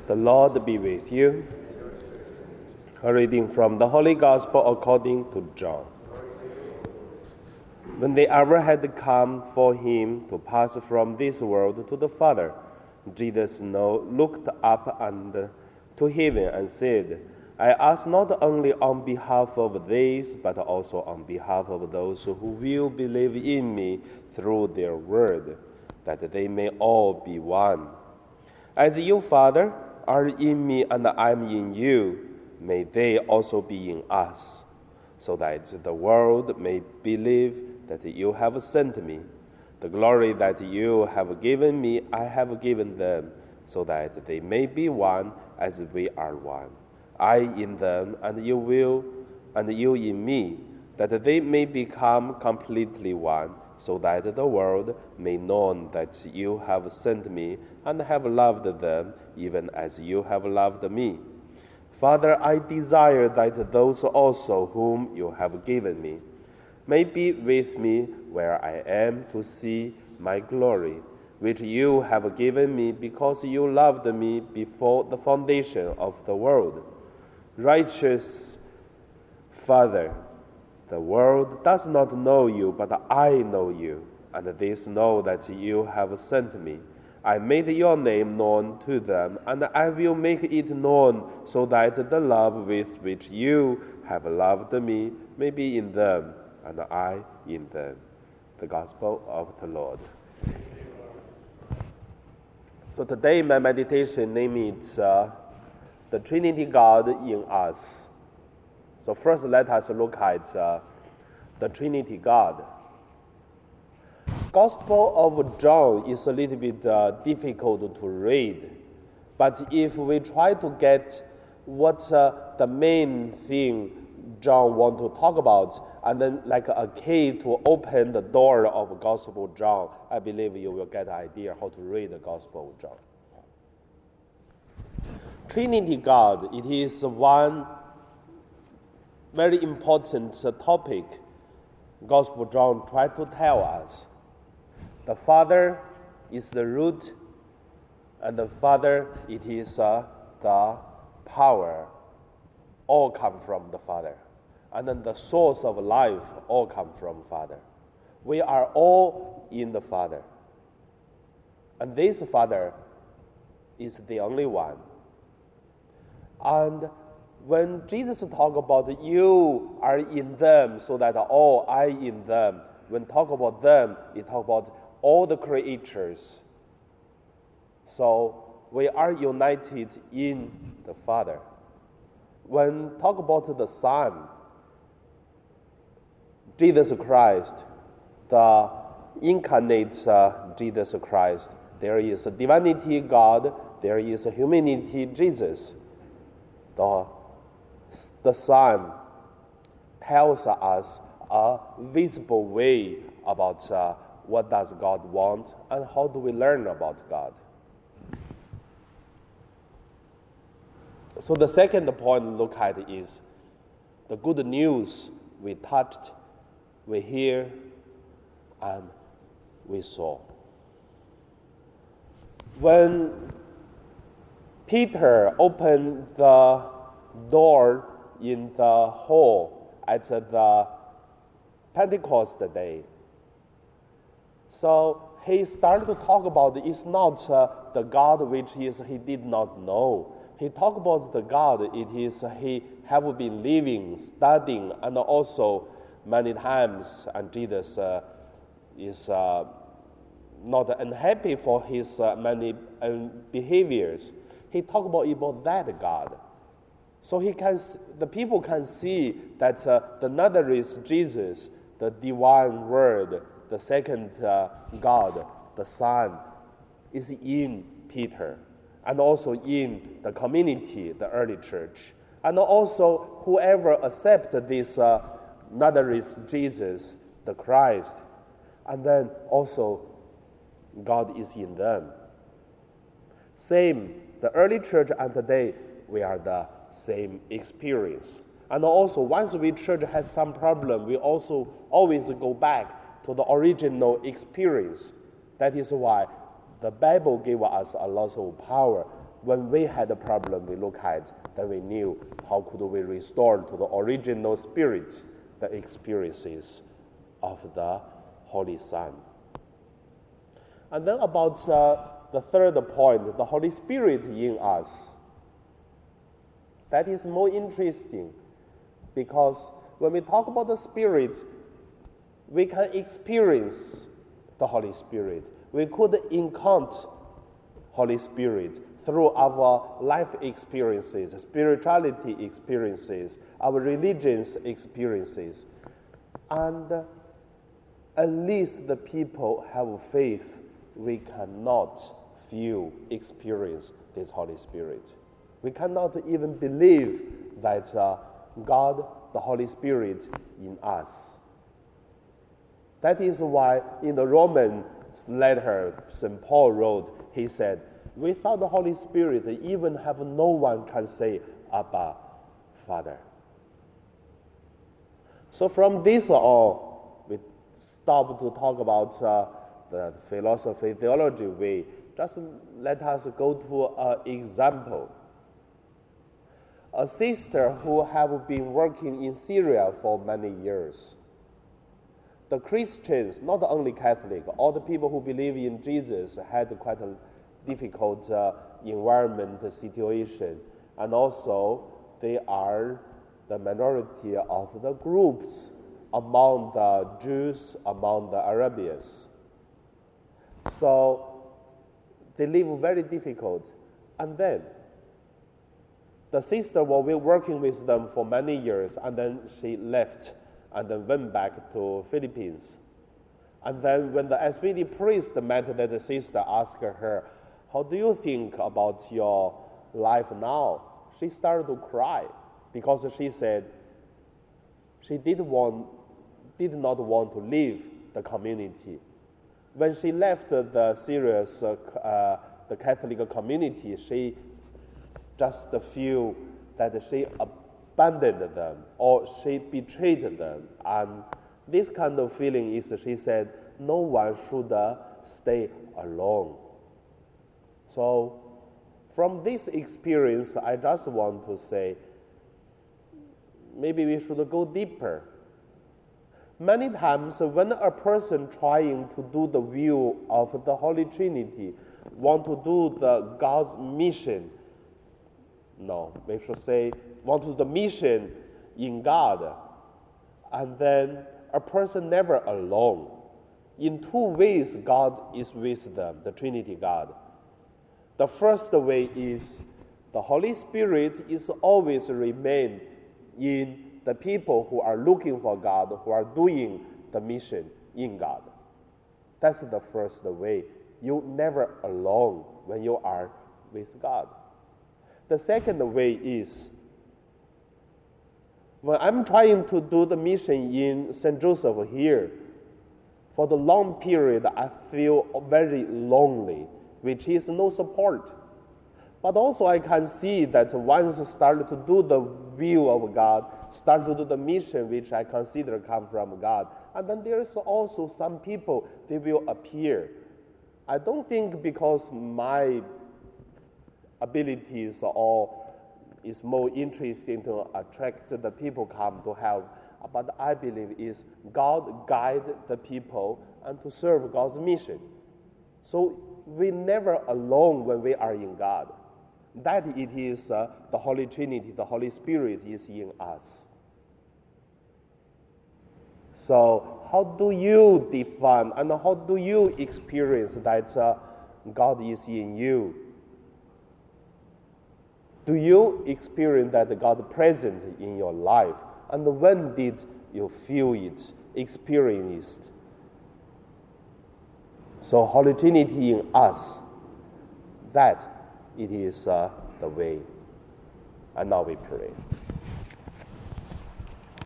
The Lord be with you. A reading from the Holy Gospel according to John. When the hour had come for him to pass from this world to the Father, Jesus looked up and to heaven and said, I ask not only on behalf of these, but also on behalf of those who will believe in me through their word, that they may all be one. As you, Father, are in me and I am in you, may they also be in us, so that the world may believe that you have sent me. The glory that you have given me, I have given them, so that they may be one as we are one. I in them, and you in me, that they may become completely one, so that the world may know that you have sent me and have loved them, even as you have loved me. Father, I desire that those also whom you have given me may be with me where I am to see my glory, which you have given me because you loved me before the foundation of the world. Righteous Father, the world does not know you, but I know you, and these know that you have sent me. I made your name known to them, and I will make it known, so that the love with which you have loved me may be in them, and I in them. The Gospel of the Lord. So today my meditation name is The Trinity God in Us. So first let us look at the Trinity God. Gospel of John is a little bit difficult to read, but if we try to get what the main thing John wants to talk about, and then like a key to open the door of Gospel of John, I believe you will get an idea how to read the Gospel of John. Trinity God, it is one very important topic Gospel of John tried to tell us. The Father is the root, and the Father, it is the power. All come from the Father. And then the source of life all come from Father. We are all in the Father. And this Father is the only one. And when Jesus talk about you are in them, so that all I in them, when talk about them, he talk about all the creatures. So we are united in the Father. When talk about the Son, Jesus Christ, the incarnate Jesus Christ, there is a divinity God, there is a humanity Jesus. The Son tells us a visible way about what does God want and how do we learn about God. So the second point to look at is the good news we touched, we hear, and we saw. When Peter opened the door in the hall at the Pentecost day, so he started to talk about it's not the God which he did not know. He talked about the God, it is he have been living, studying, and also many times, and Jesus is not unhappy for his many behaviors. He talked about that God. So the people can see that the Nazareth Jesus, the divine word, the second God, the Son, is in Peter, and also in the community, the early church. And also whoever accepts this Nazareth Jesus, the Christ, and then also God is in them. Same, the early church and today, we are the same experience. And also, once we church has some problem, we also always go back to the original experience. That is why the Bible gave us a lot of power when we had a problem we look at, then we knew how could we restore to the original spirit the experiences of the Holy Son. And then about the third point, the Holy Spirit in us. That is more interesting because when we talk about the Spirit, we can experience the Holy Spirit. We could encounter Holy Spirit through our life experiences, spirituality experiences, our religious experiences. And at least the people have faith, we cannot experience this Holy Spirit. We cannot even believe that God, the Holy Spirit, in us. That is why in the Roman letter St. Paul wrote, he said, without the Holy Spirit, even have no one can say, Abba, Father. So from this on, we stop to talk about the philosophy, theology way. Just let us go to an example. A sister who have been working in Syria for many years. The Christians, not only Catholic, all the people who believe in Jesus had quite a difficult environment situation. And also, they are the minority of the groups among the Jews, among the Arabians. So, they live very difficult. And then, the sister was working with them for many years, and then she left and then went back to Philippines. And then when the SPD priest met that sister, asked her, how do you think about your life now? She started to cry because she said she did not want to leave the community. When she left the Syria's the Catholic community, she just feel that she abandoned them or she betrayed them. And this kind of feeling is, she said, no one should stay alone. So from this experience, I just want to say, maybe we should go deeper. Many times when a person trying to do the will of the Holy Trinity, want to do the God's mission, no, we should say, want to do the mission in God, and then a person never alone. In two ways, God is with them, the Trinity God. The first way is the Holy Spirit is always remain in the people who are looking for God, who are doing the mission in God. That's the first way. You're never alone when you are with God. The second way is, when I'm trying to do the mission in St. Joseph here, for the long period, I feel very lonely, which is no support. But also I can see that once I start to do the will of God, start to do the mission which I consider come from God, and then there is also some people, they will appear. I don't think because my abilities or is more interesting to attract the people come to help, but I believe is God guide the people and to serve God's mission. So we never alone when we are in God. That it is the Holy Trinity, the Holy Spirit is in us. So how do you define and how do you experience that God is in you? Do you experience that God present in your life? And when did you feel it, experience it? So Holy Trinity in us, that it is the way. And now we pray.